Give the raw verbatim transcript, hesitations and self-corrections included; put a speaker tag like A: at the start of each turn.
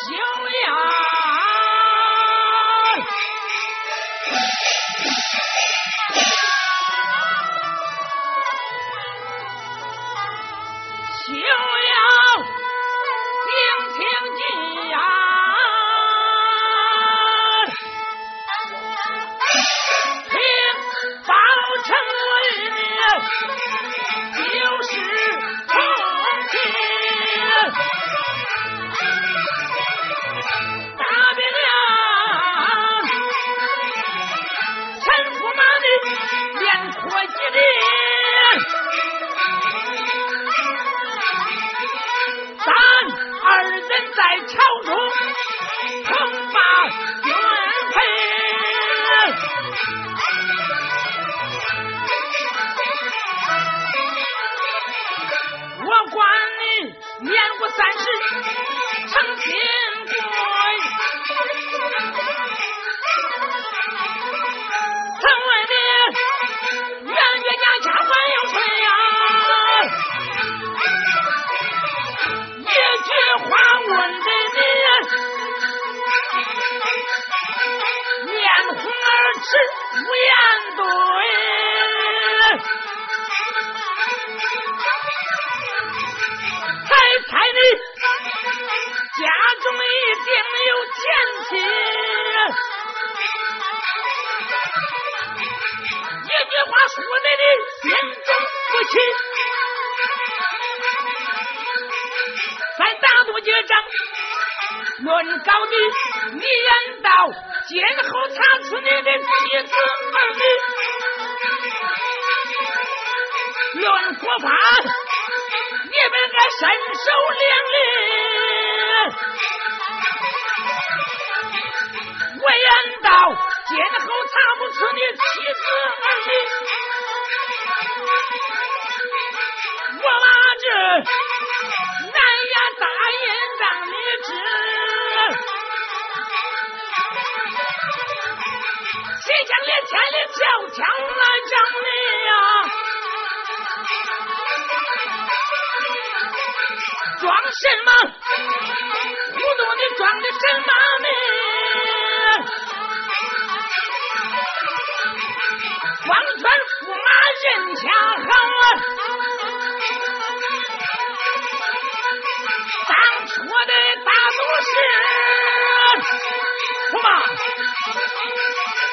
A: 休呀！休要听听计呀！听包成语就是重庆。大别了陈驸马的连拖几的咱二人在朝中同把军配，我管你年过三十成亲贵，城外的圆月家家还要吹呀，一句话问的你面红耳赤无言对，猜猜你家中一定有奸情，一句话说的你心中不气，再打多几仗论高低，你言道今后查出你的妻子儿女，论国法你们该身手两利，我言道今后查不出你妻子儿女，我把这南衙大印让你知，谁想连千里迢迢来找你呀，装什么糊涂你装的什么呢，光圈驸马人家好，当初的大都是驸马